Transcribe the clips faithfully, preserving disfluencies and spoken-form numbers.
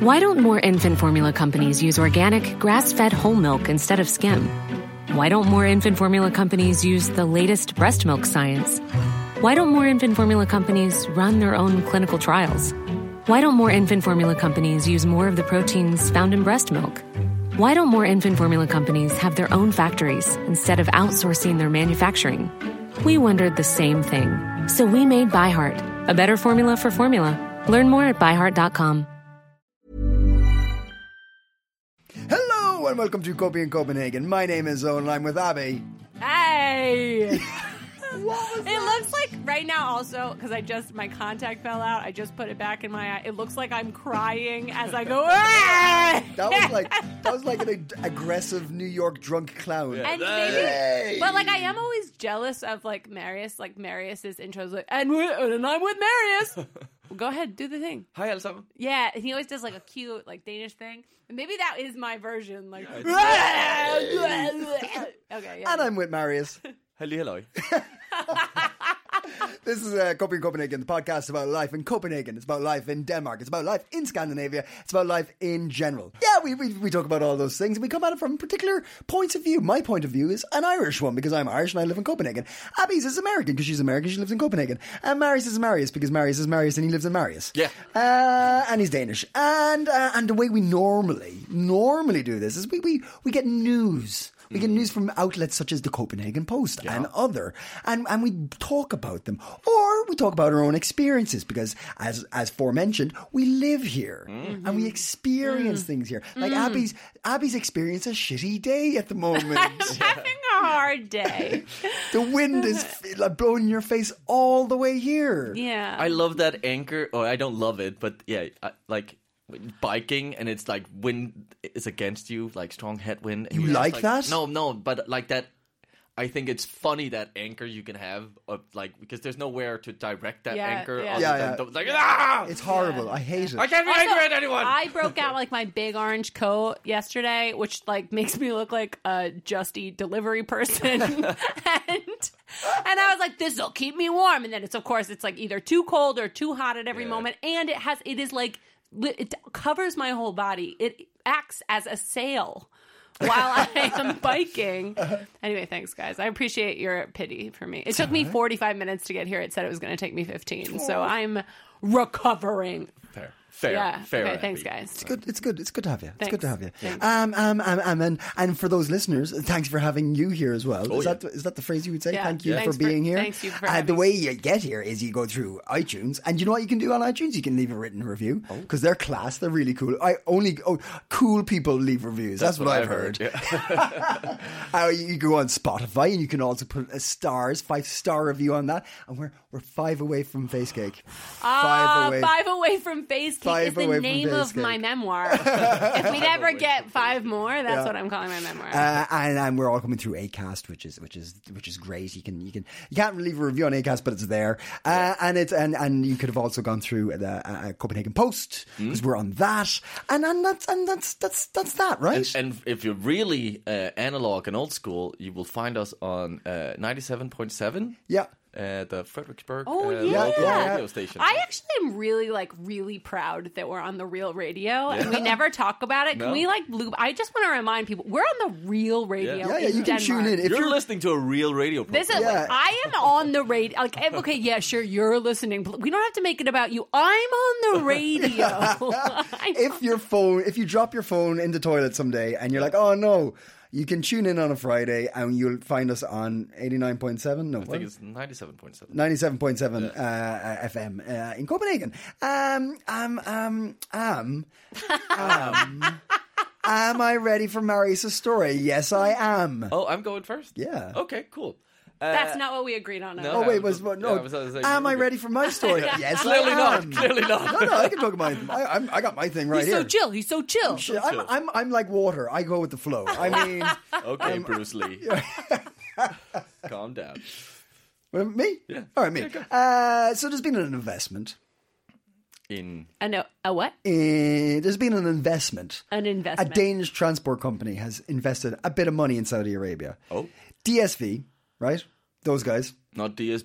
Why don't more infant formula companies use organic, grass-fed whole milk instead of skim? Why don't more infant formula companies use the latest breast milk science? Why don't more infant formula companies run their own clinical trials? Why don't more infant formula companies use more of the proteins found in breast milk? Why don't more infant formula companies have their own factories instead of outsourcing their manufacturing? We wondered the same thing. So we made ByHeart, a better formula for formula. Learn more at by heart dot com. Hello and welcome to Copy in Copenhagen. My name is Owen and I'm with Abby. Hey! It looks like right now also, because I just, my contact fell out, I just put it back in my eye. It looks like I'm crying as I go, ah! That was like that was like an ag- aggressive New York drunk clown. And maybe, but like I am always jealous of like Marius, like Marius's intros, like, and, and I'm with Marius. Well, go ahead, do the thing. Hej alle sammen. Yeah, and he always does like a cute like Danish thing. And maybe that is my version. Like, okay, yeah. And I'm with Marius. Halli halløj. This is uh, Copy in Copenhagen, the podcast about life in Copenhagen. It's about life in Denmark. It's about life in Scandinavia. It's about life in general. Yeah, we, we we talk about all those things, and we come at it from particular points of view. My point of view is an Irish one, because I'm Irish and I live in Copenhagen. Abby's is American, because she's American, she lives in Copenhagen. And Marius is Marius, because Marius is Marius and he lives in Marius. Yeah. Uh, and he's Danish. And uh, and the way we normally, normally do this is we, we, we get news. We get news from outlets such as the Copenhagen Post yeah. and other, and, and we talk about them, or we talk about our own experiences, because as as forementioned, we live here mm-hmm. and we experience mm. things here. Like mm. Abby's Abby's experienced a shitty day at the moment. I'm having a hard day. The wind is like blowing in your face all the way here. Yeah, I love that anchor. Or I don't love it, but yeah, I, like. biking and it's like wind is against you, like strong headwind. You like, like that? No, no, but like that. I think it's funny that anchor you can have, of like because there's nowhere to direct that yeah, anchor. Yeah, other yeah, than yeah. The, like ah, it's horrible. Yeah. I hate it. I can't be also, angry at anyone. I broke out like my big orange coat yesterday, which like makes me look like a Just Eat delivery person, and and I was like, this will keep me warm, and then it's of course it's like either too cold or too hot at every yeah. moment, and it has it is like. It covers my whole body. It acts as a sail while I am biking. Anyway, thanks, guys. I appreciate your pity for me. It took me forty-five minutes to get here. It said it was going to take me fifteen. So I'm recovering. Fair. Fair, yeah. fair. Okay, thanks, guys. It's good. It's good. It's good to have you. It's thanks. good to have you. Thanks. Um, um, um, um, and and for those listeners, thanks for having you here as well. Oh, is yeah. that is that the phrase you would say? Yeah. Thank you Yeah. for Thanks being for, here. Thanks you for uh, having the me. way you get here is you go through iTunes, and you know what you can do on iTunes? You can leave a written review because they're class. They're really cool. I only oh, cool people leave reviews. That's, That's what, what I've heard. heard. Yeah. uh, you, you go on Spotify, and you can also put a stars, five star review on that. And we're we're five away from face cake. Uh, five away. Five away from face cake Five is the away from name face of cake. my memoir. If we never get five more, that's Yeah. what I'm calling my memoir. Uh, and, and we're all coming through Acast, which is which is which is great. You can you can you can't leave a review on Acast, but it's there. Uh, yeah. And it's and, and you could have also gone through the uh, Copenhagen Post because mm. we're on that. And and that's and that's that's that's that, right? And, and if you're really uh, analog and old school, you will find us on uh, ninety-seven point seven. Yeah. Uh, the Fredericksburg oh, uh, yeah. local Yeah. radio station. I actually am really, like, really proud that we're on the Real Radio, and we never talk about it. Can No. we, like, loop? I just want to remind people, we're on the Real Radio Yeah, yeah, in you can Denmark. tune in. If you're, you're listening to a real radio program. This is, Yeah. like, I am on the radio. Like, okay, yeah, sure, you're listening. But we don't have to make it about you. I'm on the radio. if your phone, if you drop your phone in the toilet someday and you're like, oh no. You can tune in on a Friday and you'll find us on eighty-nine point seven. No, I think it's ninety-seven point seven. ninety-seven point seven yeah. uh, F M uh, in Copenhagen. Um, um, um, um, um, am I ready for Marius' story? Yes, I am. Oh, I'm going first? Yeah. Okay, cool. Uh, That's not what we agreed on. no. Oh wait, was what? No. Yeah, I was- I was like, am I okay. ready for my story? Yes, Clearly I not. am. Clearly not. No, no, I can talk about my. I, I'm, I got my thing right He's here. so chill. He's so chill. Shit, I'm, I'm, I'm like water. I go with the flow. I mean, Okay, Bruce Lee. Calm down. well, me? Yeah. All right, me. Yeah, go. uh, so there's been an investment. In I know. A what? Uh, there's been an investment. An A investment. Danish transport company has invested a bit of money in Saudi Arabia. Oh. D S V, right? Those guys. Not D S B.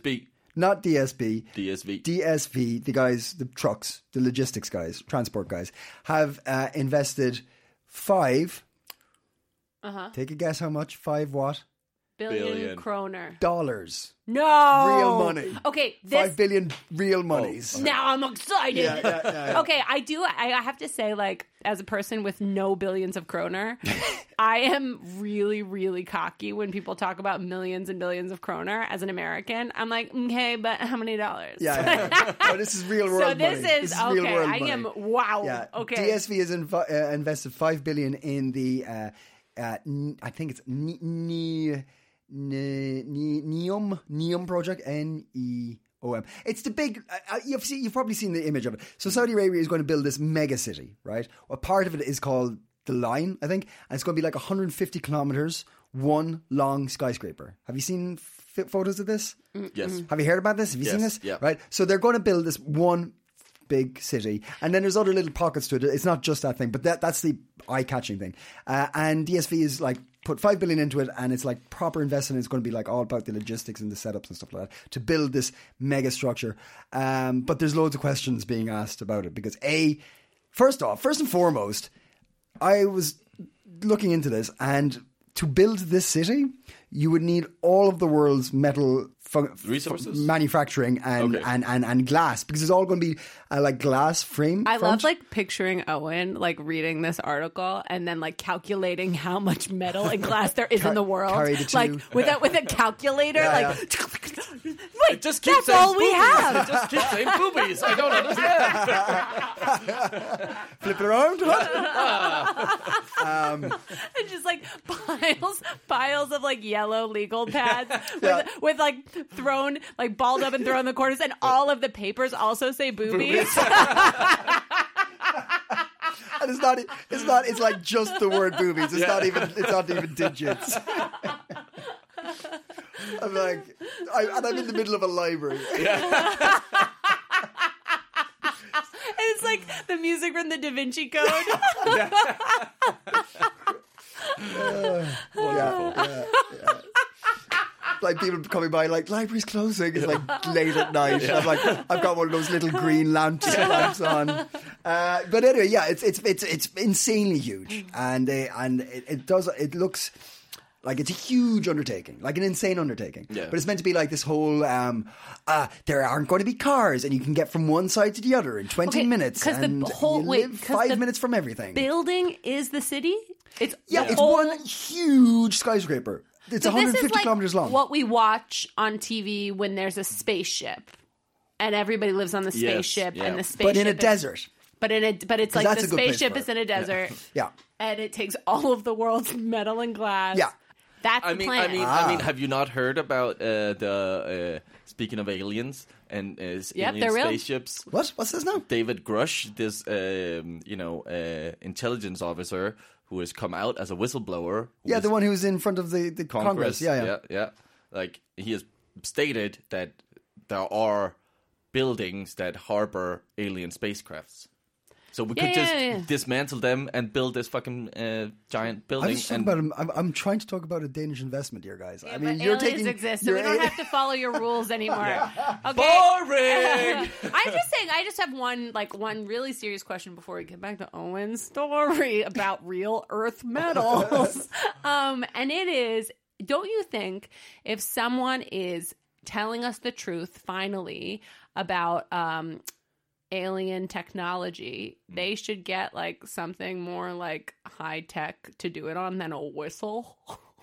not D S B. D S V. D S V, the guys, the trucks, the logistics guys, transport guys, have uh, invested five. Uh-huh. Take a guess how much? Five what? Billion, Billion. kroner. Dollars. No. Real money. Okay. This, Five billion real monies. Oh, now I'm excited. Yeah, yeah, yeah, yeah. Okay, I do. I, I have to say, like, as a person with no billions of kroner, I am really, really cocky when people talk about millions and billions of kroner. As an American, I'm like, okay, but how many dollars? Yeah, yeah. No, this is real world So this money. is, real okay. world I money. am wow. Yeah. Okay. D S V has inv- uh, invested five billion in the. Uh, uh, n- I think it's N- N- N- N- Neom Neom project. N E O M. It's the big. Uh, you've seen. You've probably seen the image of it. So Saudi Arabia is going to build this mega city, right? Well, part of it is called the Line, I think, and it's going to be like one hundred fifty kilometers, one long skyscraper. Have you seen f- photos of this? Yes. Have you heard about this? Have you Yes, seen this? yeah. Right. So they're going to build this one big city, and then there's other little pockets to it. It's not just that thing, but that that's the eye-catching thing. Uh, and D S V is like put five billion into it, and it's like proper investment. It's going to be like all about the logistics and the setups and stuff like that to build this mega structure. Um, but there's loads of questions being asked about it because a, first off, first and foremost, I was looking into this, and to build this city, you would need all of the world's metal fu- Resources? fu- manufacturing and, Okay. and, and, and glass, because it's all going to be uh, like glass frame. I front. love like picturing Owen like reading this article and then like calculating how much metal and glass there is in the world, carry the two. like with a with a calculator, Yeah, like yeah. wait, It just keeps that's all we boobies. have. It just keeps saying boobies. I don't understand. Flip it around. And just like piles, piles of like yellow legal pads with, Yeah. with like thrown, like balled up and thrown in the corners, and all of the papers also say boobies. And it's not. It's not. It's like just the word boobies. It's not even. It's not even digits. I'm like, I, and I'm in the middle of a library. And it's like the music from the Da Vinci Code. Yeah, yeah, yeah. Like people coming by, like library's closing. It's like late at night. I'm like, I've got one of those little green lamps, lamps on. Uh, but anyway, yeah, it's it's it's it's insanely huge, and uh, and it, it does. It looks like it's a huge undertaking, like an insane undertaking. Yeah. But it's meant to be like this whole. Um, uh, there aren't going to be cars, and you can get from one side to the other in twenty Okay, minutes, 'cause the and whole- you wait, live 'cause five the minutes from everything. Building is the city. It's yeah, the it's whole- one huge skyscraper. It's So one hundred this fifty is like kilometers long. what we watch on T V when there's a spaceship, and everybody lives on the Yes, spaceship, yeah. and the spaceship but in a is- desert. But in a but it's 'Cause like that's the a good place spaceship for is it. in a desert, Yeah. and it takes all of the world's metal and glass. Yeah. That's I the mean, plan. I mean, Ah. I mean, have you not heard about uh, the uh, speaking of aliens and uh, Yep, alien they're real. spaceships? What? What's this now? David Grush, this um, you know uh, intelligence officer who has come out as a whistleblower. who Yeah, is the one who was in front of the, the Congress. Congress. Yeah, yeah. yeah, yeah. Like he has stated that there are buildings that harbor alien spacecrafts. So we Yeah, could yeah, just yeah. dismantle them and build this fucking uh, giant I'm building. just talking and about. I'm, I'm trying to talk about a Danish investment here, guys. Yeah, I mean, but you're aliens taking. exist, so we you're don't a- have to follow your rules anymore. Okay. Boring! I'm just saying. I just have one, like, one really serious question before we get back to Owen's story about real Earth metals. um, and it is: don't you think if someone is telling us the truth finally about um, alien technology, they should get like something more like high tech to do it on than a whistle?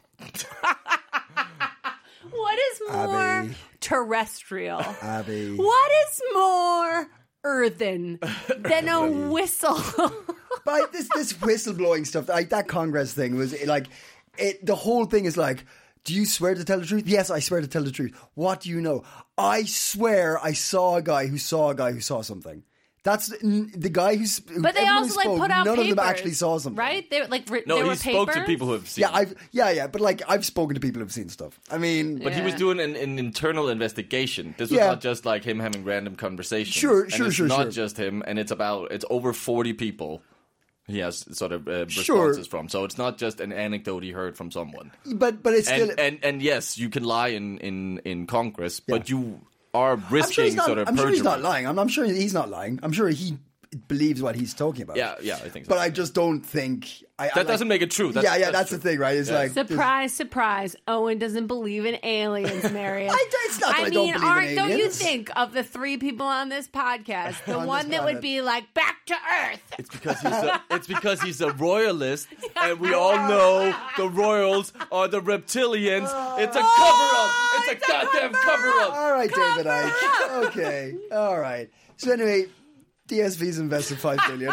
What is more Abby. terrestrial? Abby. What is more earthen than a whistle? But this this whistleblowing stuff, like that Congress thing, was like, it. The whole thing is like. Do you swear to tell the truth? Yes, I swear to tell the truth. What do you know? I swear I saw a guy who saw a guy who saw something. That's the, the guy who's. Who, But they everyone also who like spoke, put out none papers, of them actually saw something, right? They like re- no, there he were spoke to papers? people who have seen. Yeah, I've yeah yeah, but like I've spoken to people who've seen stuff. I mean, But he was Yeah. doing an, an internal investigation. This was Yeah. not just like him having random conversations. Sure, and sure, it's sure, not sure. just him, and it's about it's over forty people. He has sort of uh, Sure. responses from, so it's not just an anecdote he heard from someone. but but it's still And and and yes, you can lie in in in Congress, but you are I'm risking sure he's not, sort of I'm sure he's perjury. not lying. I'm, I'm sure he's not lying. I'm sure he believes what he's talking about. Yeah, yeah, I think so. But I just don't think... I, I that like, doesn't make it true. That's, yeah, yeah, that's, that's, the thing, right? It's Yeah. like... Surprise, surprise. Owen doesn't believe in aliens, Marius. I, it's not that I, I don't mean, believe in aren't, don't you aliens. think of the three people on this podcast, the On this one that would planet. be like, back to Earth? It's because he's a, it's because he's a royalist, and we all know the royals are the reptilians. It's a cover up. It's, it's a a goddamn cover up. All right, David Icke. Okay, all right. So anyway, D S V's invested five billion,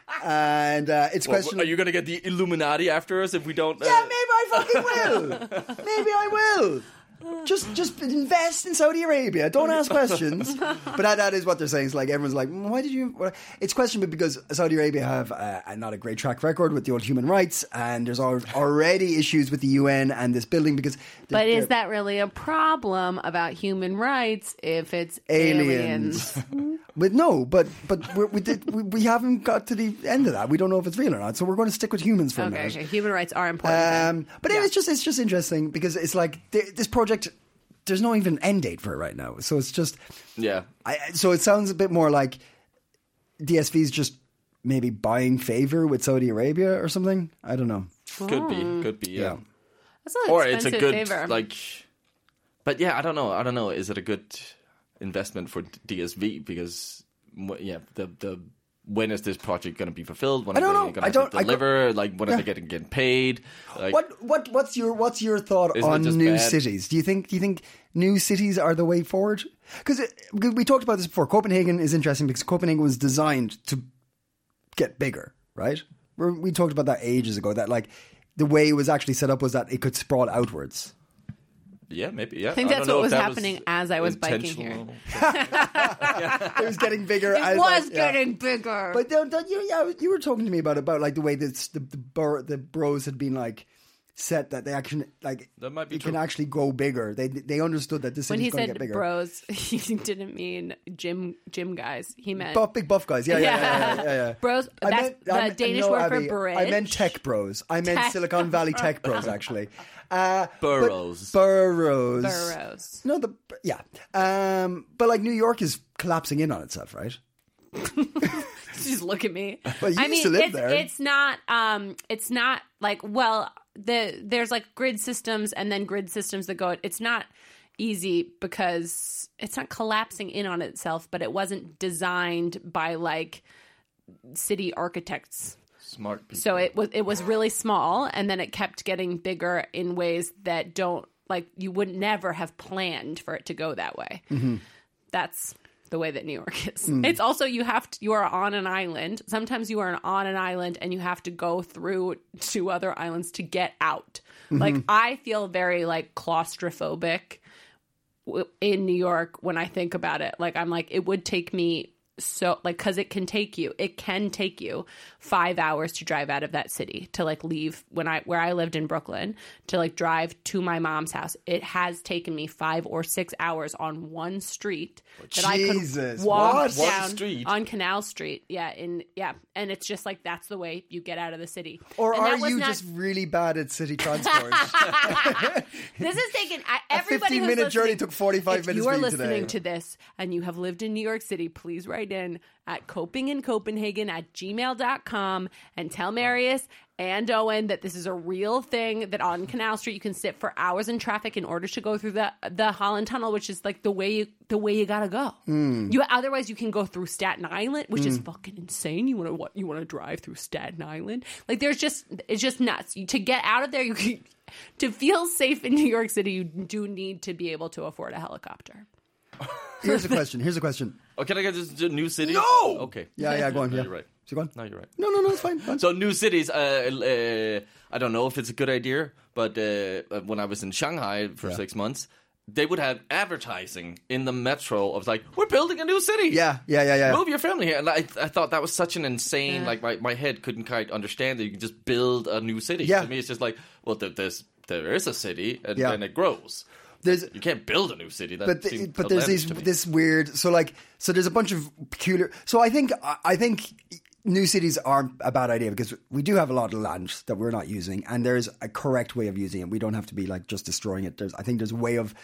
and uh, it's Well, question. are you going to get the Illuminati after us if we don't? Uh, Yeah, maybe I fucking will. Maybe I will. Just, just invest in Saudi Arabia. Don't ask questions. But that, that is what they're saying. It's like everyone's like, "Mm, why did you? Well, it's questionable because Saudi Arabia have uh, not a great track record with the old human rights, and there's al- already issues with the U N and this building because. But they're- is that really a problem about human rights if it's aliens? aliens? But no, but but we're, we did we, we haven't got to the end of that. We don't know if it's real or not. So we're going to stick with humans for a Okay, minute. okay. Human rights are important. then. Um, but it's just it's just interesting because it's like th- this project. There's no even end date for it right now, so it's just. Yeah. I, so it sounds a bit more like D S V's just maybe buying favor with Saudi Arabia or something. I don't know. Could be. Could be. Yeah. Yeah. That's an Or it's a expensive good favor. like. But yeah, I don't know. I don't know. Is it a good investment for D S V? Because wh- yeah, the the when is this project going to be fulfilled? When I are don't they know. going I don't- to I deliver? like when are Yeah. they getting getting paid? Like, What what what's your what's your thought Isn't it on just new bad? cities? Do you think do you think new cities are the way forward? Because we talked about this before. Copenhagen is interesting because Copenhagen was designed to get bigger, right? We're, we talked about that ages ago. That like the way it was actually set up was that it could sprawl outwards. Yeah, maybe. Yeah, I think don't that's know what if was that happening as I was biking here. intentional. It was getting bigger. It as, was like, yeah. getting bigger. But then, then you, yeah, you were talking to me about about like the way that the the, bur- the bros had been like set that they actually like That might be it can true. actually go bigger. They they understood that this when city's he going to said get bigger. bros, he didn't mean gym gym guys. He meant Buff, big buff guys. Yeah, yeah, yeah, yeah, yeah. yeah. Bros. I That's meant- the I meant- Danish no, word for Abby, bridge. I meant tech bros. I meant Tech. Silicon Valley tech bros, actually. Uh, Burrows. But burrows. Burrows. No, the yeah. Um, but like New York is collapsing in on itself, right? Just look at me. Well, you I used mean, to live it's, there. it's not. Um, it's not like well, the there's like grid systems and then grid systems that go. It's not easy because it's not collapsing in on itself, but it wasn't designed by like city architects. Smart people. So it was it was really small, and then it kept getting bigger in ways that don't like you would never have planned for it to go that way. Mm-hmm. That's the way that New York is. Mm. It's also you have to, you are on an island. Sometimes you are on an island and you have to go through two other islands to get out. Mm-hmm. Like I feel very like claustrophobic w- in New York when I think about it. Like I'm like it would take me so like because it can take you it can take you five hours to drive out of that city to like leave when I where I lived in Brooklyn to like drive to my mom's house. It has taken me five or six hours on one street that I Jesus, could walk what? One down street? on Canal Street. Yeah, in yeah, and it's just like that's the way you get out of the city. Or And are that was you not- just really bad at city transport? This is taken. I, A everybody who's fifteen-minute journey listening- took forty-five if minutes you are for you listening today. to this and you have lived in New York City, please write in at coping in Copenhagen at gmail dot com and tell Marius and Owen that this is a real thing, that on Canal Street you can sit for hours in traffic in order to go through the the Holland Tunnel, which is like the way you the way you gotta go. Hmm. You otherwise you can go through Staten Island, which is fucking insane. You want to what you want to drive through Staten Island? Like there's just it's just nuts. You, to get out of there, you can, to feel safe in New York City, you do need to be able to afford a helicopter. Here's a question. Here's a question. Oh, can I get this to new cities? No! Okay. Yeah, yeah, go on. No, Yeah. you're right. So go on. No, you're right. No, no, no, it's fine. fine. So new cities. Uh, uh, I don't know if it's a good idea, but uh, when I was in Shanghai for Yeah. six months, they would have advertising in the metro of like, "We're building a new city. yeah, yeah, yeah, yeah. Move your family here." And I, I thought that was such an insane. Yeah. Like my, my head couldn't quite understand that you can just build a new city. Yeah. To me, it's just like, well, there, there's there is a city, and Yeah. then it grows. There's You can't build a new city. That but the, seems but there's outlandish these to me. this weird so like so there's a bunch of peculiar so I think I think new cities aren't a bad idea because we do have a lot of land that we're not using and there's a correct way of using it. We don't have to be like just destroying it. There's I think there's a way of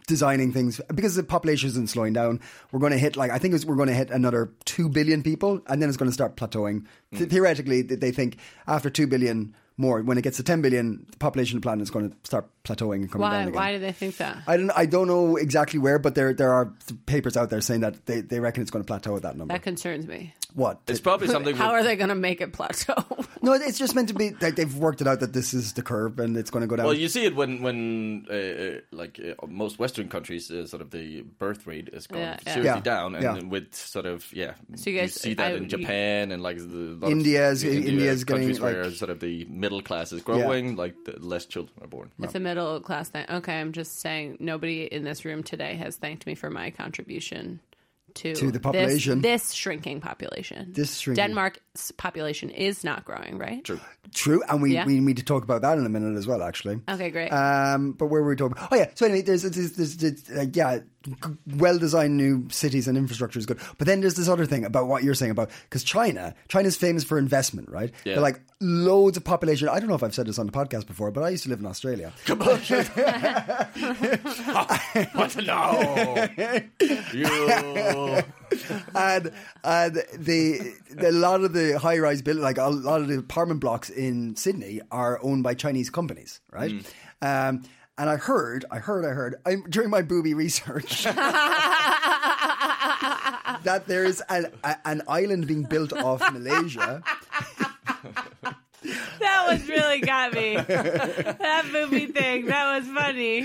designing things because the population isn't slowing down. We're going to hit like I think it's, we're going to hit another two billion people, and then it's going to start plateauing. Mm. Th- theoretically, they think after two billion more, when it gets to ten billion, the population of the planet is going to start plateauing and coming Why? down again. Why do they think that? I don't. I don't know exactly where, but there there are papers out there saying that they, they reckon it's going to plateau at that number. That concerns me. What? It's probably something. How with, are they going to make it plateau? No, it's just meant to be. Like, they've worked it out that this is the curve and it's going to go down. Well, you see it when when uh, like uh, most Western countries, uh, sort of the birth rate is going Yeah, yeah. seriously Yeah, down, and yeah. with sort of yeah, So you guys- see that I- in you- Japan and like the lot India's- of, India, India's countries getting, where like- sort of the middle class is growing, like the less children are born. It's a middle class thing. Okay, I'm just saying nobody in this room today has thanked me for my contribution to, To the population. This, this shrinking population. This shrinking. Denmark's population is not growing, right? True. True, and we, Yeah. we need to talk about that in a minute as well, actually. Okay, great. Um, but where were we talking? Oh yeah. So anyway, there's, there's, there's, there's uh, yeah, well-designed new cities and infrastructure is good. But then there's this other thing about what you're saying about because China, China's famous for investment, right? Yeah. They're like loads of population. I don't know if I've said this on the podcast before, but I used to live in Australia. Come on, what no? You. and and the, the a lot of the high rise building, like a lot of the apartment blocks in Sydney, are owned by Chinese companies, right? Mm. Um, and I heard, I heard, I heard I, during my booby research that there is an, a, an island being built off Malaysia. That was really got me. That movie thing. That was funny.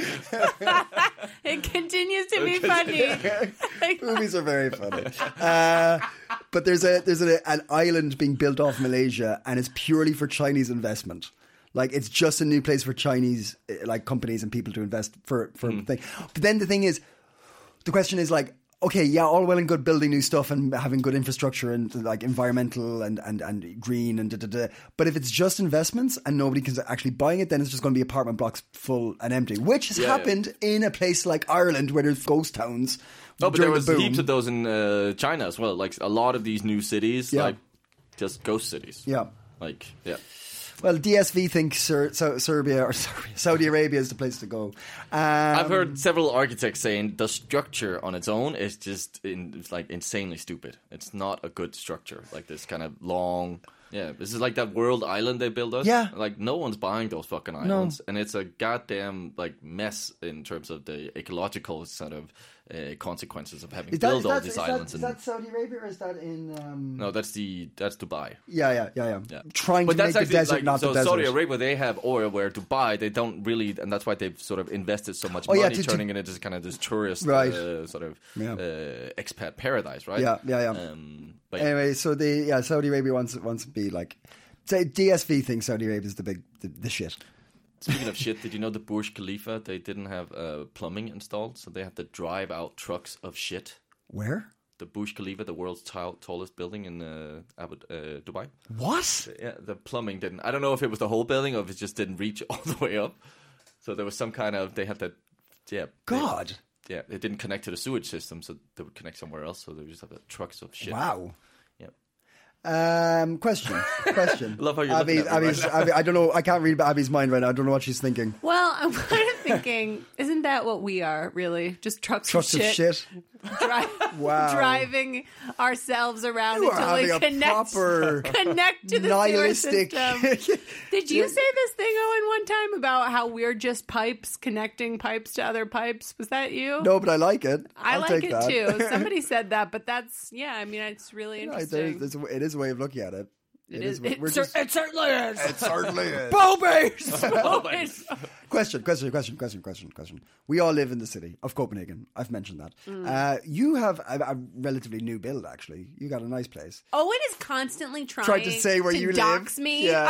It continues to be funny. Movies are very funny. Uh, but there's a there's a, an island being built off Malaysia, and it's purely for Chinese investment. Like it's just a new place for Chinese uh, like companies and people to invest for for Mm. a thing. But then the thing is, the question is like, okay, yeah, all well and good building new stuff and having good infrastructure and like environmental and and, and green and da da da. But if it's just investments and nobody can actually buying it, then it's just going to be apartment blocks full and empty, which has Yeah, happened in a place like Ireland where there's ghost towns. No, but during there was the boom. heaps of those in uh, China as well. Like a lot of these new cities, Yeah. like just ghost cities. Yeah. Like yeah. Well, D S V thinks Ser- so- Serbia or Serbia, Saudi Arabia is the place to go. Um, I've heard several architects saying the structure on its own is just in, it's like insanely stupid. It's not a good structure. Like this kind of long. Yeah, this is like that world island they built us. Yeah. Like no one's buying those fucking islands, and it's a goddamn like mess in terms of the ecological sort of uh, consequences of having Is that, built is all that, these is that, islands. is and, that Saudi Arabia or is that in? Um... no, that's the that's Dubai. Yeah, yeah, yeah, yeah. Yeah. Trying But to that's make the actually desert like, not so the desert. Saudi Arabia, they have oil, where Dubai, they don't really, and that's why they've sort of invested so much Oh, yeah, money, to- to- turning it into kind of this tourist Right. uh, sort of Yeah. uh, expat paradise, right? Yeah, yeah, yeah. Um, but yeah. Anyway, so the yeah Saudi Arabia wants wants to be like, say D S V thinks Saudi Arabia is the big the, the shit. Speaking of shit, did you know the Burj Khalifa, they didn't have uh, plumbing installed, so they have to drive out trucks of shit. Where? The Burj Khalifa, the world's t- tallest building in uh, Abu, uh, Dubai. What? Yeah, the plumbing didn't. I don't know if it was the whole building or if it just didn't reach all the way up. So there was some kind of, they had to, yeah. they- God. yeah, it didn't connect to the sewage system, so they would connect somewhere else. So they would just have the trucks of shit. Wow. Yeah. Um, question. Question. Love how you're Abby, looking at me Abby's, right Abby, I don't know. I can't read Abby's mind right now. I don't know what she's thinking. Well, I'm kind of thinking, isn't that what we are, really? Just trucks, Trucks of of shit. shit. Dri- Wow. Driving ourselves around You are until we having a connect, proper connect to the nihilistic. sewer system. Did you say this thing, Owen, one time about how we're just pipes connecting pipes to other pipes? Was that you? No, but I like it. I I'll like take it that. too. Somebody said that, but that's, yeah, I mean, it's really Right, interesting. there's, there's, a- it is a way of looking at it. It is. It It, is. cer- it certainly is. It certainly is. Boobies. Question, question, question, question, question, question. We all live in the city of Copenhagen. I've mentioned that. Mm. Uh, you have a, a relatively new build, actually. You got a nice place. Owen is constantly trying, Trying to say where you live. dox me Yeah.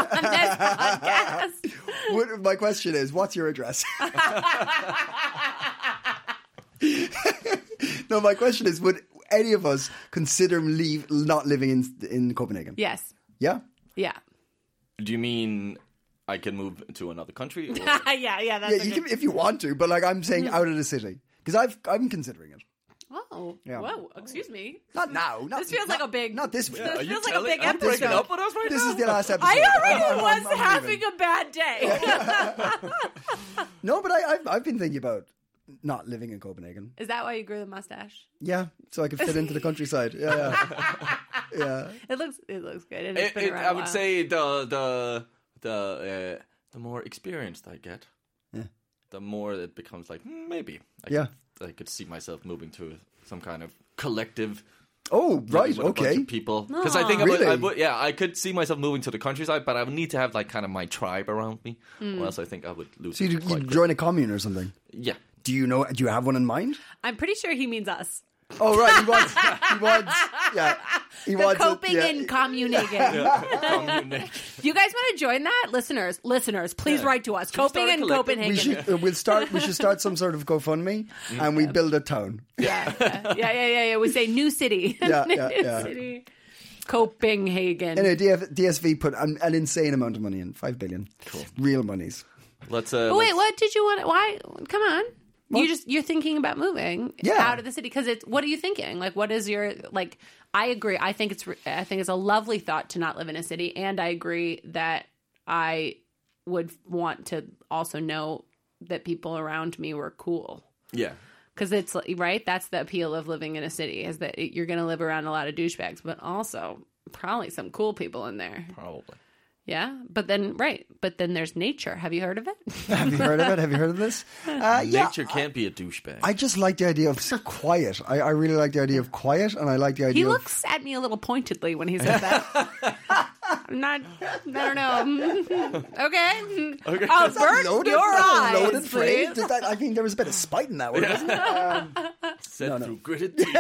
on this podcast. What, my question is, what's your address? No, my question is, would any of us consider leave not living in in Copenhagen? Yes. Yeah? Yeah. Do you mean I can move to another country? Or? yeah, yeah, that's Yeah, a you good... can, if you want to, but like I'm saying out of the city. Because I've I'm considering it. Oh, Yeah. whoa, excuse me. Not now. Not, This feels not, like a big- Not this week. This Are you feels like a telling- big I'm breaking episode. up with us right This now? is the last episode. I already I'm- I'm- was I'm having leaving. a bad day. No, but I, I've, I've been thinking about not living in Copenhagen. Is that why you grew the mustache? Yeah, so I could fit into the countryside. Yeah, yeah, yeah. It looks it looks good. And it's It, been it, around I a would while. say the the the uh, the more experienced I get, Yeah. the more it becomes like hmm, maybe I Yeah. could, I could see myself moving to some kind of collective. Oh, right, with a bunch okay. of people. Because I think I would, Really? I would, yeah, I could see myself moving to the countryside, but I would need to have like kind of my tribe around me, or else I think I would lose. So you it quite you quick. join a commune or something? Yeah. Do you know? Do you have one in mind? I'm pretty sure he means us. Oh, right. He wants. He wants. Yeah. He The wants. it, Coping yeah. and Comunigan. You guys want to join that? Listeners, listeners, please Yeah. write to us. Should we Coping start a and collective? Copenhagen. We should. Uh, we'll start. We should start some sort of GoFundMe, and we build a town. Yeah, yeah, yeah, yeah, yeah, yeah. We say new city. Yeah, new yeah, yeah. city. Copenhagen. Anyway, D F, D S V put an, an insane amount of money in, five billion. Cool. Real monies. Let's. Uh, But wait, let's- what did you want? Why? Come on. You just you're thinking about moving Yeah. out of the city because it's. What are you thinking? Like, what is your like? I agree. I think it's. I think it's a lovely thought to not live in a city, and I agree that I would want to also know that people around me were cool. Yeah. Because it's like, right. That's the appeal of living in a city is that you're going to live around a lot of douchebags, but also probably some cool people in there. Probably. Yeah, but then right, but then there's nature. Have you heard of it? Have you heard of it? Have you heard of this? Uh, yeah. Nature can't be a douchebag. I just like the idea of quiet. I, I really like the idea of quiet, and I like the idea He of... looks at me a little pointedly when he says that. I'm not. I don't know. Okay. Okay. I'll Is that burn loaded? your Is that a eyes, loaded phrase? please. Did that, I think there was a bit of spite in that one, wasn't there? Um, Set no, no. through gritted teeth.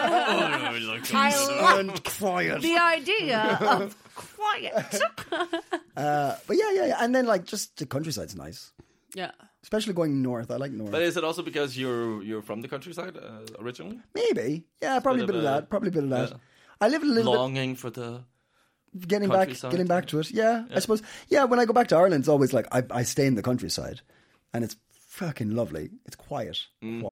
I love and quiet. the idea of quiet. Uh, but yeah, yeah, yeah. And then, like, just the countryside's nice. Yeah. Especially going north. I like north. But is it also because you're you're from the countryside uh, originally? Maybe. Yeah, probably a bit bit of of a- that. Probably a bit of that. yeah. I live a little Longing for the. bit... Getting back, countryside. getting back to it. Yeah, I suppose. Yeah, when I go back to Ireland, it's always like, I, I stay in the countryside. And it's fucking lovely. It's quiet. Mm.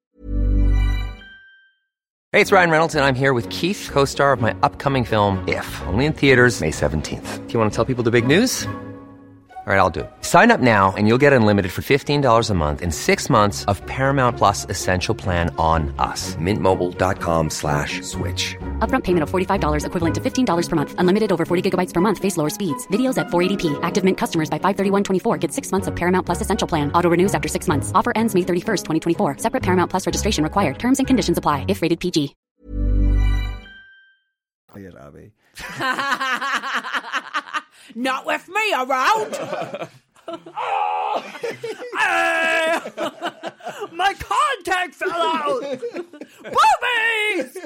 Hey, it's Ryan Reynolds, and I'm here with Keith, co-star of my upcoming film, If, only in theaters May seventeenth. Do you want to tell people the big news? All right, I'll do it. Sign up now and you'll get unlimited for fifteen dollars a month and six months of Paramount Plus Essential Plan on us. Mint Mobile dot com slash switch. Upfront payment of forty-five dollars equivalent to fifteen dollars per month. Unlimited over forty gigabytes per month. Face lower speeds. Videos at four eighty p. Active Mint customers by five thirty-one twenty-four get six months of Paramount Plus Essential Plan. Auto renews after six months. Offer ends May thirty-first, twenty twenty-four. Separate Paramount Plus registration required. Terms and conditions apply if rated P G. Quiet, Abby. Not with me around. My contact fell out. Boobies.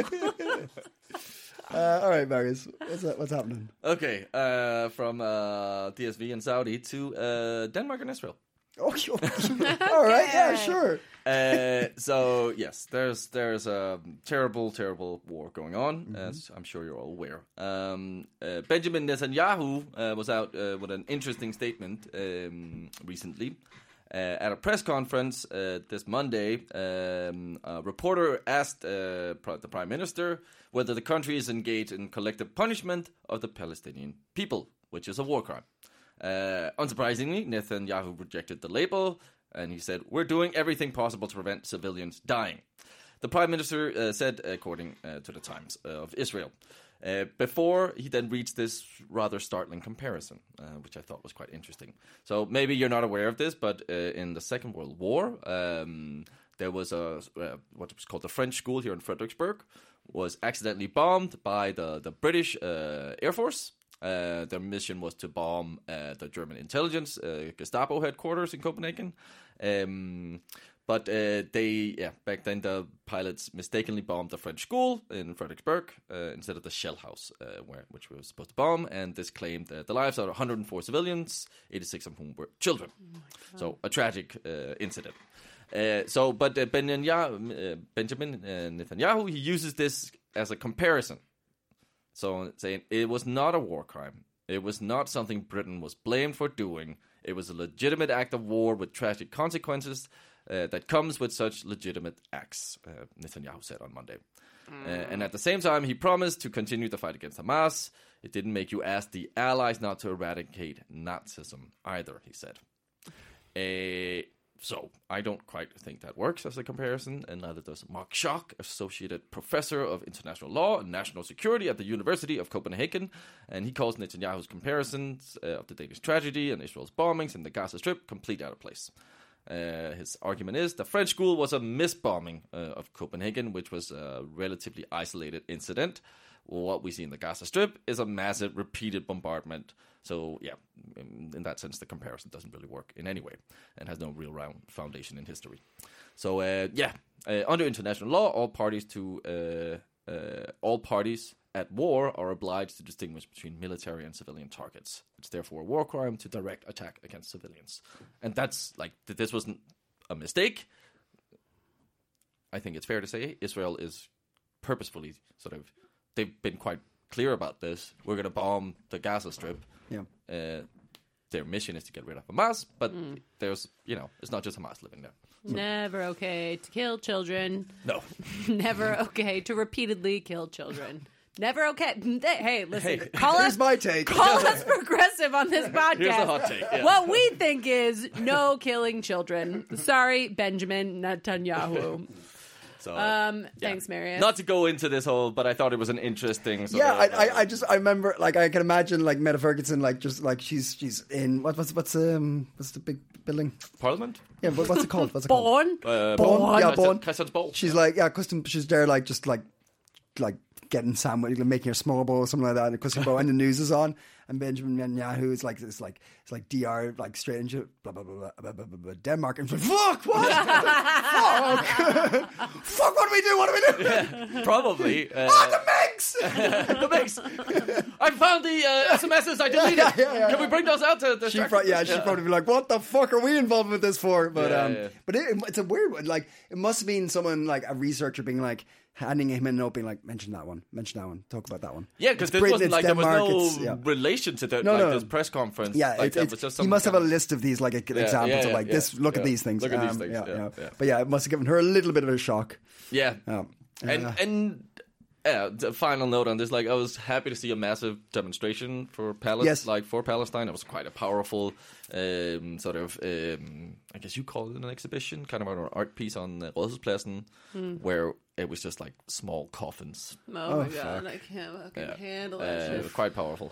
Uh, all right, Marius. What's, that, what's happening? Okay, uh, from uh, D S V in Saudi to uh, Denmark and Israel. Oh, all right. Yeah, sure. Uh, so yes, there's there's a terrible, terrible war going on, as I'm sure you're all aware. Um, uh, Benjamin Netanyahu uh, was out uh, with an interesting statement um, recently. Uh, at a press conference uh, this Monday, um, a reporter asked uh, the Prime Minister whether the country is engaged in collective punishment of the Palestinian people, which is a war crime. Uh, unsurprisingly, Netanyahu rejected the label, and he said, "We're doing everything possible to prevent civilians dying." The Prime Minister uh, said, according uh, to the Times of Israel. Uh, before he then reached this rather startling comparison, uh, which I thought was quite interesting. So maybe you're not aware of this, but uh, in the Second World War, um, there was a uh, what was called the French School here in Fredericksburg, was accidentally bombed by the the British uh, Air Force. Uh, their mission was to bomb uh, the German intelligence uh, Gestapo headquarters in Copenhagen. Um, But uh, they, yeah, back then the pilots mistakenly bombed the French school in Fredericksburg uh, instead of the shell house, uh, where which we were supposed to bomb. And this claimed uh, the lives of one hundred four civilians, eighty-six of whom were children. Oh so a tragic uh, incident. Uh, so, but uh, Benjamin, uh, Benjamin uh, Netanyahu, he uses this as a comparison. So saying it was not a war crime. It was not something Britain was blamed for doing. It was a legitimate act of war with tragic consequences. Uh, that comes with such legitimate acts, uh, Netanyahu said on Monday. Mm. Uh, and at the same time, he promised to continue the fight against Hamas. It didn't make you ask the allies not to eradicate Nazism either, he said. Uh, so I don't quite think that works as a comparison, and neither does Mark Schock, associate professor of international law and national security at the University of Copenhagen, and he calls Netanyahu's comparisons uh, of the Danish tragedy and Israel's bombings in the Gaza Strip complete out of place. Uh, his argument is the French school was a misbombing uh, of Copenhagen, which was a relatively isolated incident. What we see in the Gaza Strip is a massive repeated bombardment. So, yeah, in, in that sense, the comparison doesn't really work in any way and has no real round foundation in history. So, uh, yeah, uh, under international law, all parties to uh, uh, all parties at war are obliged to distinguish between military and civilian targets. It's therefore a war crime to direct attack against civilians. And that's like, this wasn't a mistake. I think it's fair to say Israel is purposefully sort of, they've been quite clear about this. We're going to bomb the Gaza Strip. Yeah. Uh, their mission is to get rid of Hamas, but mm. there's, you know, it's not just Hamas living there. So. Never okay to kill children. No. Never okay to repeatedly kill children. Never okay. Hey, listen. Hey, call here's us, my take. Call us progressive on this podcast. Here's a hot take. Yeah. What we think is no killing children. Sorry, Benjamin Netanyahu. So, um, yeah. Thanks, Marius. Not to go into this whole, but I thought it was an interesting. Sort yeah, of, I, I, I just, I remember, like, I can imagine, like, Meta Ferguson, like, just, like, she's, she's in what, what's, what's, um, what's the big building? Parliament. Yeah, but what's it called? What's it Born. called? Uh, Born. Yeah, Born. Christiansborg. She's like, yeah, custom. She's there, like, just like, like getting sandwich, making a small bowl or something like that. And custom bowl, and the news is on. And Benjamin Netanyahu is like, it's like, it's like D R, like straight into blah blah blah blah blah, blah, blah, blah Denmark, and she's like, fuck, what? fuck, fuck, what do we do? What do we do? Yeah, probably. Uh, oh, the mix, the mix. I found the uh, S M Ses I deleted. Yeah, yeah, yeah, Can we bring those out to the? She pro- yeah, she'd yeah. probably be like, "What the fuck are we involved with this for?" But yeah, um, yeah. but it, it's a weird one. Like, it must have been someone like a researcher being like. Handing him a note, being like, mention that one, mention that one, talk about that one. Yeah, because this Britain, wasn't like Denmark, there was no yeah. relation to the, no, like no. this press conference. Yeah, like it's, that it's, was just he must have kind a list of these like yeah, examples yeah, yeah, of like yeah, this. Look yeah. at these things. Look at these Um, things. Yeah, Yeah, yeah. yeah. But yeah, it must have given her a little bit of a shock. Yeah, Um, and uh, and yeah, the final note on this, like I was happy to see a massive demonstration for Palestine, Yes. like for Palestine. It was quite a powerful um, sort of, um, I guess you call it an exhibition, kind of an art piece on uh, Rådhuspladsen, mm. where it was just like small coffins. Oh, Oh, my god, fuck. I can't fucking Yeah. handle Uh, that it shit. was quite powerful.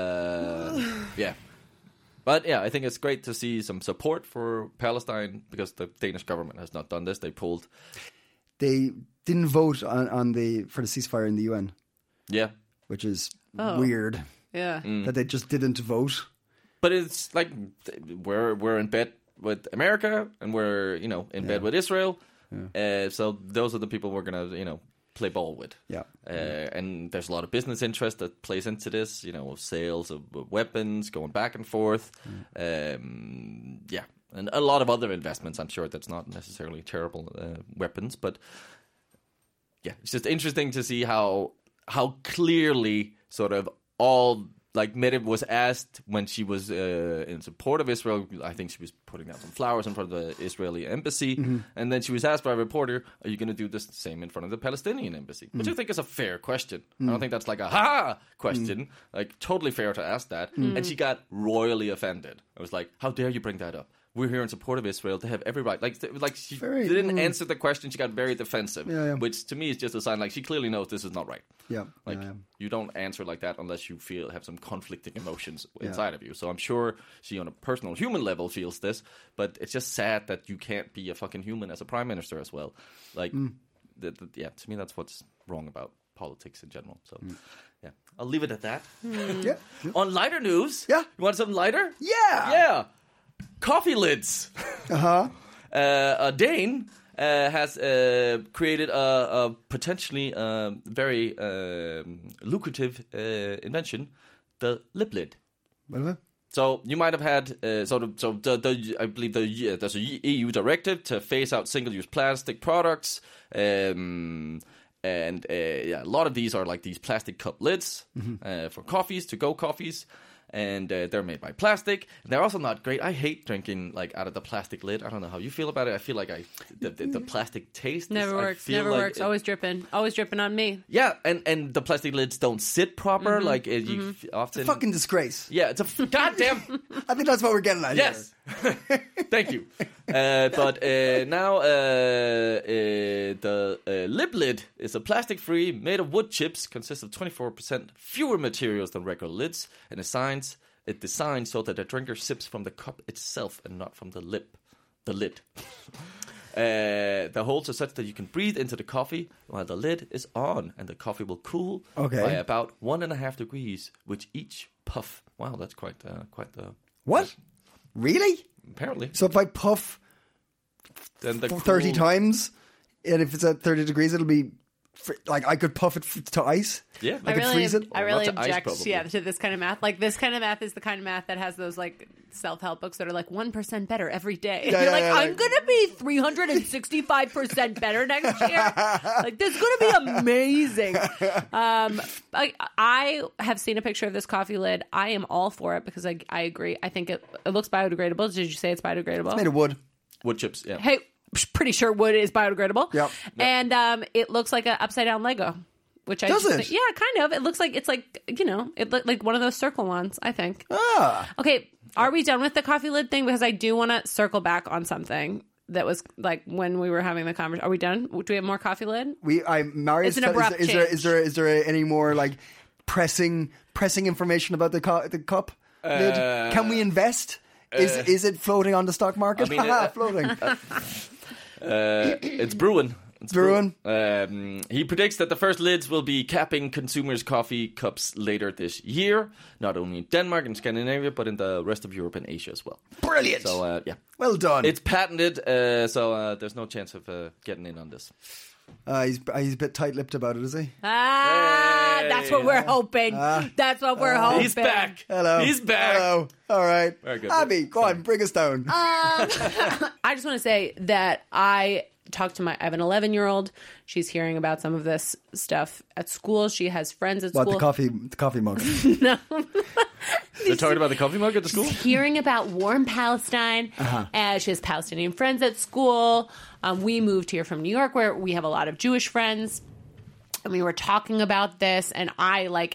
Uh, yeah. But yeah, I think it's great to see some support for Palestine because the Danish government has not done this. They pulled. they didn't vote on, on the for the ceasefire in the U N, Yeah. which is Oh. weird Yeah. Mm. that they just didn't vote. But it's like we're we're in bed with America and we're, you know, in bed with Israel. Uh, so those are the people we're gonna, you know, play ball with. Yeah. Uh, and there's a lot of business interest that plays into this, you know, of sales of weapons going back and forth. Um, yeah. And a lot of other investments, I'm sure that's not necessarily terrible uh, weapons, but yeah, it's just interesting to see how how clearly sort of all like Mette was asked when she was uh, in support of Israel. I think she was putting out some flowers in front of the Israeli embassy, mm-hmm. and then she was asked by a reporter, "Are you going to do this same in front of the Palestinian embassy?" Mm-hmm. Which I think is a fair question. Mm-hmm. I don't think that's like a ha question. Mm-hmm. Like totally fair to ask that, mm-hmm. and she got royally offended. I was like, "How dare you bring that up? We're here in support of Israel. They have every right." Like, like she Very, didn't mm. answer the question. She got very defensive, Yeah, yeah. which to me is just a sign like she clearly knows this is not right. Yeah, Like yeah, yeah. you don't answer like that unless you feel have some conflicting emotions Yeah. inside of you. So I'm sure she, on a personal human level, feels this, but it's just sad that you can't be a fucking human as a prime minister as well. Like, Mm. the, the, yeah, to me that's what's wrong about politics in general. So, yeah, I'll leave it at that. Yeah. On lighter news, Yeah. you want something lighter? Yeah. Yeah. Coffee lids. Uh-huh. Uh, a Dane uh, has uh, created a, a potentially uh, very um lucrative uh, invention, the lip lid. Well, So you might have had uh, sort of so the, the I believe the uh, there's a E U directive to phase out single-use plastic products, um, and uh, yeah, a lot of these are like these plastic cup lids mm-hmm. uh, for coffees, to-go coffees. and uh, they're made by plastic. They're also not great. I hate drinking like out of the plastic lid. I don't know how you feel about it. I feel like I the, the, the plastic taste Never is, works. I feel Never like works. it- Always dripping. Always dripping on me. Yeah, and, and the plastic lids don't sit proper. Mm-hmm. Like uh, you f- often. Fucking disgrace. Yeah, it's a f- goddamn. I think that's what we're getting at Yes. Thank you. Uh, but uh, now uh, uh, the uh, lip lid is a plastic-free, made of wood chips, consists of twenty-four percent fewer materials than regular lids, and designs it designed so that the drinker sips from the cup itself and not from the lip, the lid. Uh, the holes are such that you can breathe into the coffee while the lid is on, and the coffee will cool Okay. by about one and a half degrees with each puff. Wow, that's quite uh, quite the What? Really? apparently. So if I puff Then the thirty cool- times, and if it's at thirty degrees, it'll be fr- like I could puff it f- to ice. Yeah, I I could really, freeze it. I Or really not to ice, object, probably. yeah, to this kind of math. Like this kind of math is the kind of math that has those like self-help books that are like one percent better every day. Yeah, You're yeah, like, yeah, I'm like- gonna be three hundred and sixty-five percent better next year. Like this is gonna be amazing. Um, I, I have seen a picture of this coffee lid. I am all for it because I, I agree. I think it, it looks biodegradable. Did you say it's biodegradable? Made of wood. wood chips. Yeah. Hey, pretty sure wood is biodegradable. Yep. And um, it looks like an upside down Lego, which I Does just it? think- yeah, kind of. It looks like it's like you know, it looked like one of those circle ones. I think. Ah. Okay, are we done with the coffee lid thing? Because I do want to circle back on something that was like when we were having the conversation. Are we done? Do we have more coffee lid? We, I, Marius, It's an is, there, abrupt is there change. is there is there any more like pressing pressing information about the cu- the cup lid? Can we invest? Is is it floating on the stock market? I mean, uh, floating. Uh, it's Bruin. It's Bruin. Um, he predicts that the first lids will be capping consumers' coffee cups later this year, not only in Denmark and Scandinavia, but in the rest of Europe and Asia as well. Brilliant. So, uh, yeah. Well done. It's patented, uh, so uh, there's no chance of uh, getting in on this. Uh, he's he's a bit tight-lipped about it, is he? Ah, Hey. that's what we're hoping. that's what we're hoping. He's back. Hello. He's back. Hello. All right. Very good. Abby, go on, bring us down. I just want to say that I talked to my, I have an eleven year old. She's hearing about some of this stuff at school. She has friends at what school. the coffee the coffee mug? They're talking about the coffee mug at the school? Hearing about war in Palestine. Uh, she has Palestinian friends at school. Um, we moved here from New York where we have a lot of Jewish friends. And we were talking about this, and I like.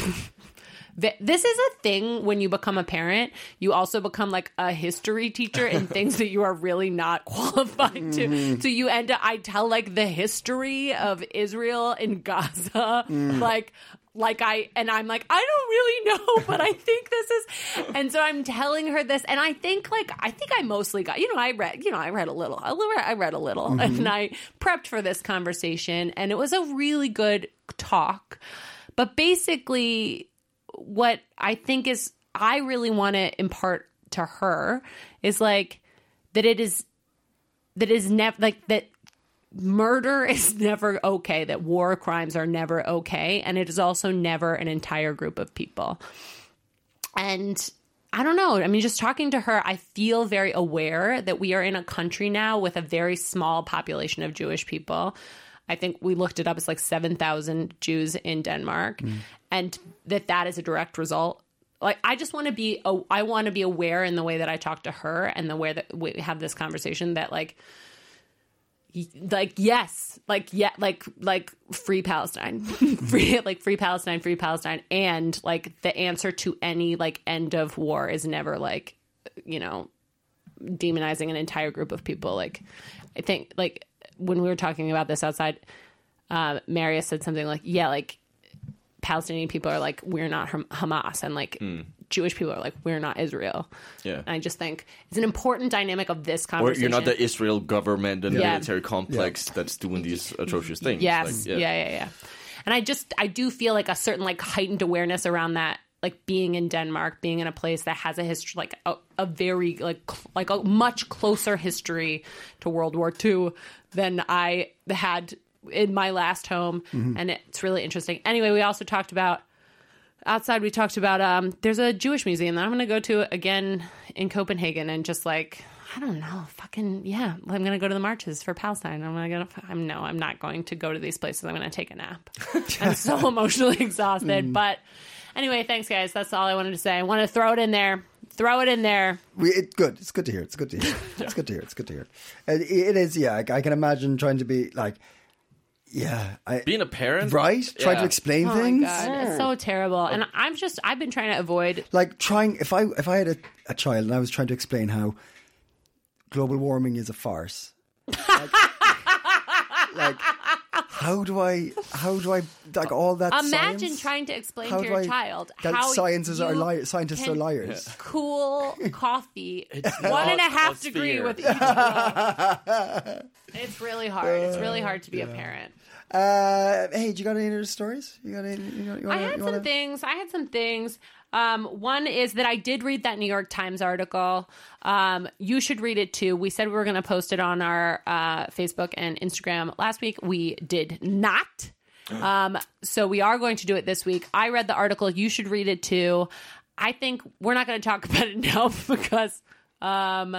th- This is a thing when you become a parent. You also become like a history teacher in things that you are really not qualified to. So you end up, I tell like the history of Israel and Gaza, like. Like I, and I'm like, I don't really know, but I think this is, and so I'm telling her this, and I think like, I think I mostly got, you know, I read, you know, I read a little, I read, I read a little, and I prepped for this conversation, and it was a really good talk, but basically what I think is, I really want to impart to her is like, that it is, that is never, like that, murder is never okay, that war crimes are never okay, and it is also never an entire group of people. And I don't know, I mean, just talking to her, I feel very aware that we are in a country now with a very small population of Jewish people. I think we looked it up, it's like seven thousand Jews in Denmark, and that that is a direct result. Like, I just want to be, I want to be aware in the way that I talk to her and the way that we have this conversation that like, like yes, like yeah, like like free Palestine, free like free Palestine, free Palestine, and like the answer to any like end of war is never like, you know, demonizing an entire group of people. Like, I think like when we were talking about this outside, uh, Marius said something like, yeah, like Palestinian people are like, we're not Ham- Hamas, and like mm. Jewish people are like, we're not Israel. Yeah, and I just think it's an important dynamic of this Or conversation. you're not the Israel government and Yeah. military complex Yeah. that's doing these atrocious things. Yes, Like, yeah. yeah, yeah, yeah. And I just, I do feel like a certain like heightened awareness around that, like being in Denmark, being in a place that has a history, like a, a very like cl- like a much closer history to World War Two than I had in my last home, mm-hmm. and it's really interesting. Anyway, we also talked about outside. We talked about um, there's a Jewish museum that I'm going to go to again in Copenhagen, and just like I don't know, fucking yeah, I'm going to go to the marches for Palestine. I'm going to go. I'm no, I'm not going to go to these places. I'm going to take a nap. I'm so emotionally exhausted, mm. but Anyway, thanks, guys. That's all I wanted to say. I want to throw it in there. Throw it in there. We, it, good. It's good to hear. It's good to hear. It's good to hear. It's good to hear. It, it is, yeah. I, I can imagine trying to be like, yeah. I, Being a parent? Right? Trying Yeah. to explain Oh things. my God, it's so terrible. And I'm just, I've been trying to avoid. Like trying, if I if I had a, a child and I was trying to explain how global warming is a farce. Like, like how do I, how do I, like all that Imagine science? trying to explain How to do your I- child that how scientists are you li- scientists can are liars. Cool coffee one and a not half a degree sphere. with each blow. It's really hard. It's really hard to be a parent. Uh, hey, do you got any other stories? You got any? You got, you I wanna, had you some wanna... things. I had some things. Um, one is that I did read that New York Times article. Um, you should read it too. We said we were going to post it on our uh, Facebook and Instagram last week. We did not. Um, so we are going to do it this week. I read the article. You should read it too. I think we're not going to talk about it now because um,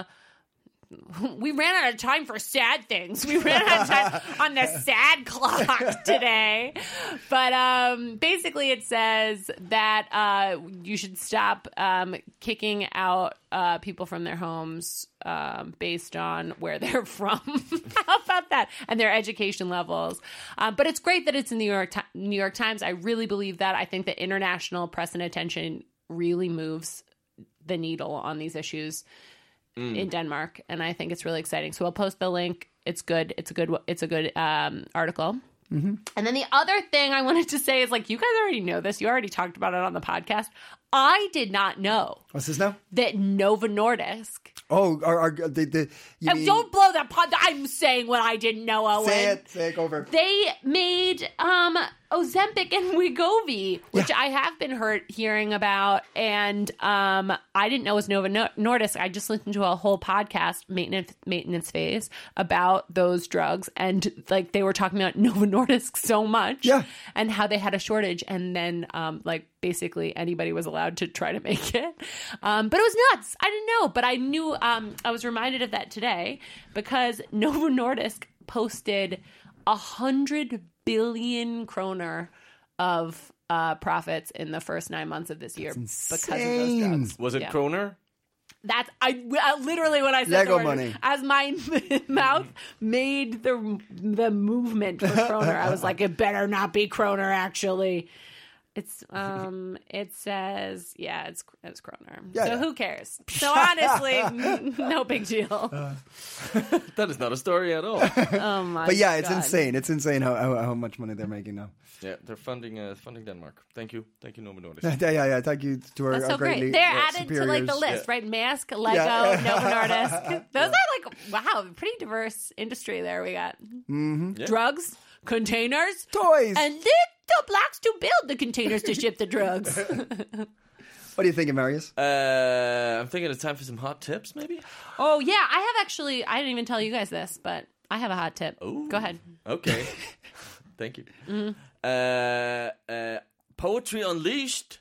we ran out of time for sad things. We ran out of time on the sad clock today. But um, basically it says that uh, you should stop um, kicking out uh, people from their homes um, based on where they're from. How about that? And their education levels. Um, but it's great that it's in the New York, Ti- New York Times. I really believe that. I think that international press and attention really moves the needle on these issues in Denmark, and I think it's really exciting. So I'll post the link. It's good. It's a good. It's a good um, article. Mm-hmm. And then the other thing I wanted to say is, like, you guys already know this. You already talked about it on the podcast. I did not know What's this now? that Novo Nordisk. Oh, are, are the the? You And mean, don't blow that pod. I'm saying what I didn't know, Owen. say it. Say it. Go over. They made um, Ozempic and Wegovy, which I have been heard hearing about, and um, I didn't know was Novo Nordisk. I just listened to a whole podcast, maintenance maintenance phase, about those drugs, and like they were talking about Novo Nordisk so much, Yeah. and how they had a shortage, and then um, like basically anybody was allowed to try to make it, um, but it was nuts. I didn't know, but I knew. Um, I was reminded of that today because Novo Nordisk posted a hundred billion kroner of uh, profits in the first nine months of this year because of those insane. drugs. Was it Yeah. kroner? That's I, I literally when I said Lego the word, money. as my mouth made the the movement for kroner, I was like, it better not be kroner. Actually, it's um, it says yeah, it's it's kroner. Yeah, so yeah. who cares? So honestly, no big deal. That is not a story at all. Oh my! But yeah, it's God. insane. It's insane how, how how much money they're making now. Yeah, they're funding uh, funding Denmark. Thank you. Thank you, Novo Nordisk. yeah, yeah, yeah. Thank you to our, That's our so greatly great. They're uh, added to like the superiors. list, right? Mask, Lego, Yeah. Novo Nordisk. Those are like wow, pretty diverse industry there. We got Mm-hmm. Yeah. drugs, containers, Toys. and little blocks to build the containers to ship the drugs. What are you thinking, Marius? Uh, I'm thinking it's time for some hot tips, maybe? Oh yeah, I have actually. I didn't even tell you guys this, but I have a hot tip. Ooh. Go ahead. Okay. Thank you. Mm-hmm. Uh, uh, Poetry Unleashed.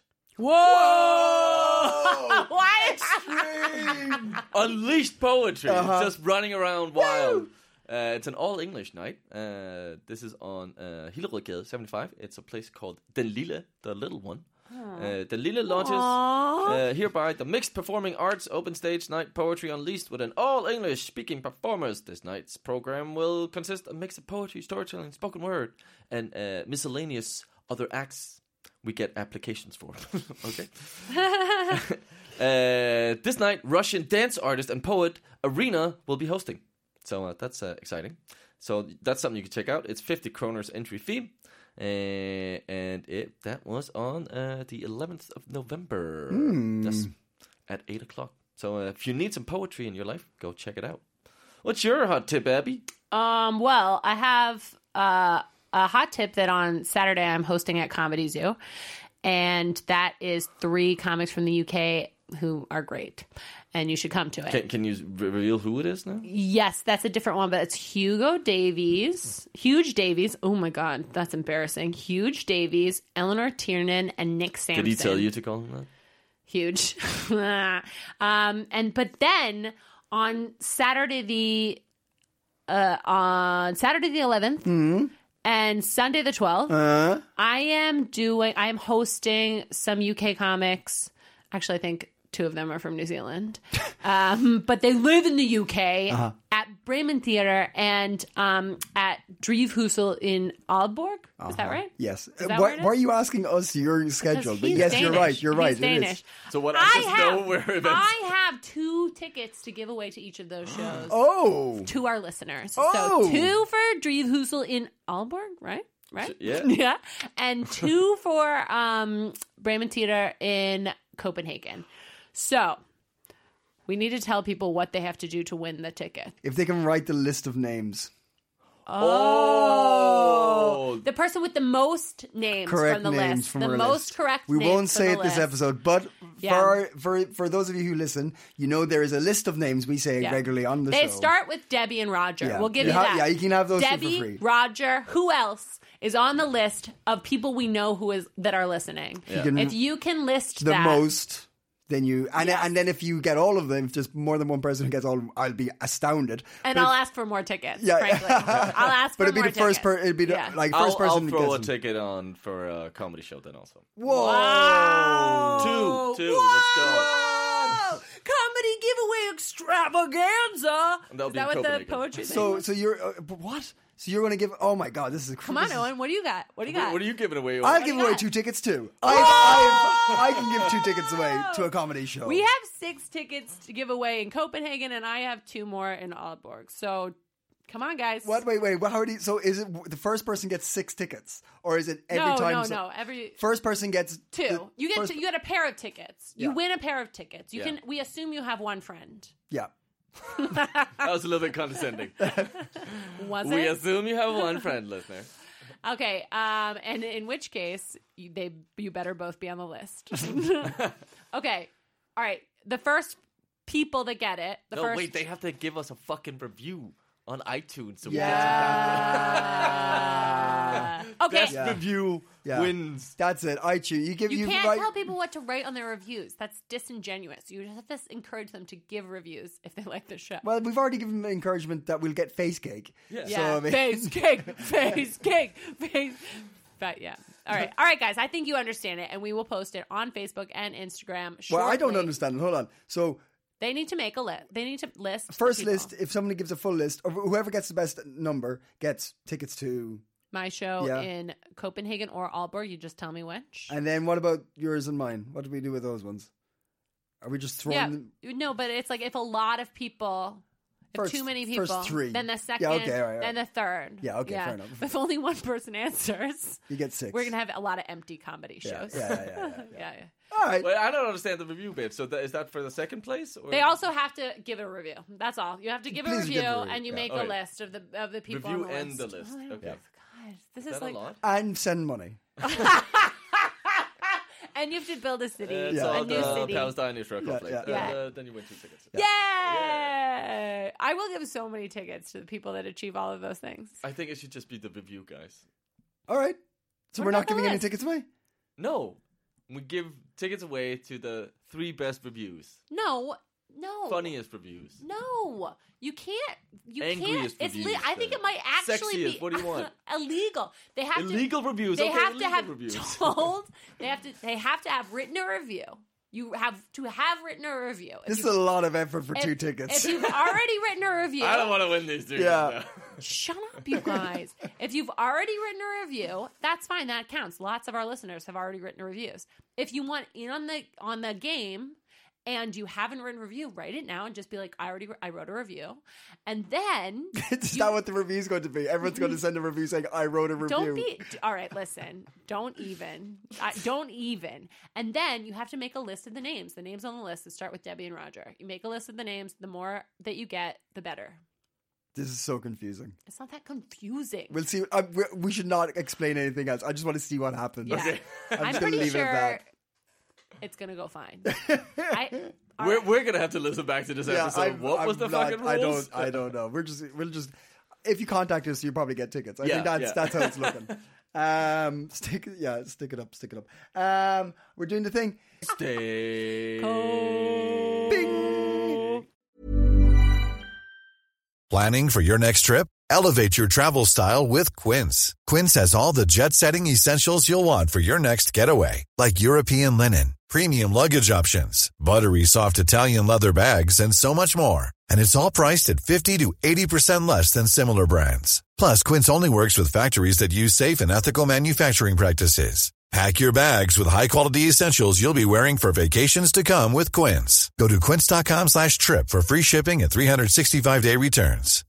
Whoa! What? Unleashed poetry. Uh-huh. It's just running around wild. Uh, it's an all-English night. Uh, this is on uh, Hillerødgade seventy-five. It's a place called Den Lille, the little one. Uh, Den Lille launches uh, hereby the Mixed Performing Arts Open Stage Night Poetry Unleashed with an all-English speaking performers. This night's program will consist of a mix of poetry, storytelling, spoken word, and uh, miscellaneous other acts we get applications for. Okay. uh, this night, Russian dance artist and poet Arena will be hosting. So uh, that's uh, exciting. So that's something you can check out. It's fifty kroners entry fee. Uh, and it that was on uh, the eleventh of November. Yes, at eight o'clock. So uh, if you need some poetry in your life, go check it out. What's your hot tip, Abby? Um, well, I have uh, a hot tip that on Saturday I'm hosting at Comedy Zoo, and that is three comics from the U K who are great, and you should come to it. Can, can you re- reveal who it is now? Yes, that's a different one, but it's Hugo Davies, Huge Davies. Oh my God, that's embarrassing. Huge Davies, Eleanor Tiernan, and Nick Sampson. Did he tell you to call him that? Huge. um, and but then on Saturday the uh, on Saturday the eleventh And Sunday the twelfth, Uh, I am doing, I am hosting some U K comics. Actually, I think two of them are from New Zealand. Um, but they live in the U K Uh-huh. at Bremen Theatre and um, at Drivhuset in Aalborg. Is that right? yes. Is Uh, that why, where it is? why are you asking us your schedule? Because But he's yes, Danish. you're right. You're He's right. It Danish. is. So what I, I just have, know where events. I have two tickets to give away to each of those shows Oh. to our listeners. Oh. So two for Drivhuset in Aalborg, right? Right? Yeah. Yeah. And two for um, Bremen Theatre in Copenhagen. So we need to tell people what they have to do to win the ticket. If they can write the list of names. Oh. The person with the most names Correct from the names list. from the our most list. correct We names won't from say the it this list. episode, but Yeah. for for for those of you who listen, you know there is a list of names we say Yeah. regularly on the They show. start with Debbie and Roger. Yeah. We'll give You you, ha- that. yeah, you can have those two for Debbie, free. Roger. Who else is on the list of people we know who is that are listening? can- If you can list the that, most. Then you and Yes. and then if you get all of them, if there's more than one person who gets all of them, I'll be astounded. and But I'll if- ask for more tickets. Yeah. Frankly, I'll ask for But it'd be more the first tickets. person. It'd be the, Yeah. like I'll, first person I'll that throw a gets them. ticket on for a comedy show then also. Whoa! Wow. Two, two, let's go. Whoa. Comedy giveaway extravaganza. And that'll Is be that in what the Copenhagen. poetry thing So was? so you're uh, but what? So you're going to give? Oh my God! This is Come on, Owen. What do you got? What do you got? What are you giving away? I'll do give you away got? two tickets too. I've, I've, I can give two tickets away to a comedy show. We have six tickets to give away in Copenhagen, and I have two more in Aalborg. So, come on, guys. What? Wait, wait. What, how do you, so is it the first person gets six tickets, or is it every no, time? no, so- no. Every First person gets two. the You get first- two, you get a pair of tickets. You Yeah. win a pair of tickets. You Yeah. can. We assume you have one friend. Yeah. That was a little bit condescending. Was We it? assume you have one friend, listener. Okay. Um. And in which case, you, they you better both be on the list. Okay. All right. The first people that get it. The No, first. wait, they have to give us a fucking review on iTunes. So Uh, okay. Best review Yeah. wins. That's it. I choose. You give You you can't write- tell people what to write on their reviews. That's disingenuous. You just have to encourage them to give reviews if they like the show. Well, we've already given them encouragement that we'll get face cake. Yeah. yeah, So, I mean- face cake, face cake, face. But yeah, all right, all right, guys. I think you understand it, and we will post it on Facebook and Instagram. Well, I don't shortly. understand it. Hold on. So They need to make a list. They need to list the first people. list, if somebody gives a full list, or whoever gets the best number gets tickets to. My show Yeah. in Copenhagen or Aalborg. You just tell me which. And then what about yours and mine? What do we do with those ones? Are we just throwing Yeah, them? no, but it's like if a lot of people. If First- too many first people, three. then the second, Yeah, okay, all right, all then the third. Yeah, okay, fair enough. If only one person answers, You get six. we're gonna have a lot of empty comedy Yeah, shows. yeah, yeah, yeah, yeah. yeah, yeah. All right. Wait, I don't understand the review bit. So that, is that for the second place? Or? They also have to give a review. That's all. You have to give a Please review, give a review, and you yeah. make Okay. a list of the of the people Review on the and list. the list. Oh, Okay. God, this Is is that like, a lot? And send money. and you have to build a city, It's a all new the city. Palestine Israel Yeah, conflict. yeah. And, Yeah. uh, then you win two tickets. Yay! I will give so many tickets to the people that achieve all of those things. I think it should just be the review, guys. All right. So What we're about not the giving any list? tickets away? No, we give tickets away to the three best reviews, No, no, funniest reviews. No, you can't. You Angriest can't. It's. reviews, Le- I think then. it might actually Sexiest, be what do you want? illegal. They have Illegal to, reviews, They okay, have to illegal have reviews. told. They have to. They have to have written a review. You have to have written a review. If This is you- a lot of effort for if- two tickets. If you've already written a review, I don't want to win these tickets. Yeah. now. shut up, you guys. If you've already written a review, that's fine. That counts. Lots of our listeners have already written reviews. If you want in on the on the game and you haven't written a review, write it now and just be like, I already I wrote a review, and then Is that what the review's going to be? Everyone's going to send a review saying, I wrote a review. don't be all right. Listen, don't even, uh, don't even, and then you have to make a list of the names. The names on the list that start with Debbie and Roger. You make a list of the names. The more that you get, the better. This is so confusing. It's not that confusing. We'll see. Uh, we, we should not explain anything else. I just want to see what happens. Yeah. I'm, I'm just going to pretty leave it sure at that. it's gonna go fine. I, all We're, right. we're gonna have to listen back to this Yeah, episode. I'm- what was I'm the not- fucking rules? I don't. I don't know. We're just. We'll just. If you contact us, you'll probably get tickets. I Yeah, think that's yeah. that's how it's looking. Um, stick. Yeah, stick it up. Stick it up. Um, we're doing the thing. Stay. Bing. Planning for your next trip? Elevate your travel style with Quince. Quince has all the jet-setting essentials you'll want for your next getaway, like European linen, premium luggage options, buttery soft Italian leather bags, and so much more. And it's all priced at fifty to eighty percent less than similar brands. Plus, Quince only works with factories that use safe and ethical manufacturing practices. Pack your bags with high-quality essentials you'll be wearing for vacations to come with Quince. Go to quince.com slash trip for free shipping and three sixty-five day returns.